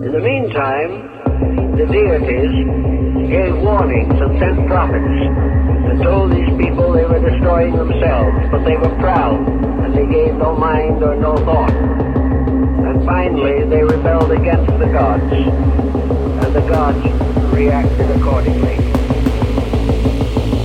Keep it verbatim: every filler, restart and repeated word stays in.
In the meantime, the deities gave warnings and sent prophets and told these people they were destroying themselves, but they were proud and they gave no mind or no thought. And finally they rebelled against the gods, and the gods reacted accordingly.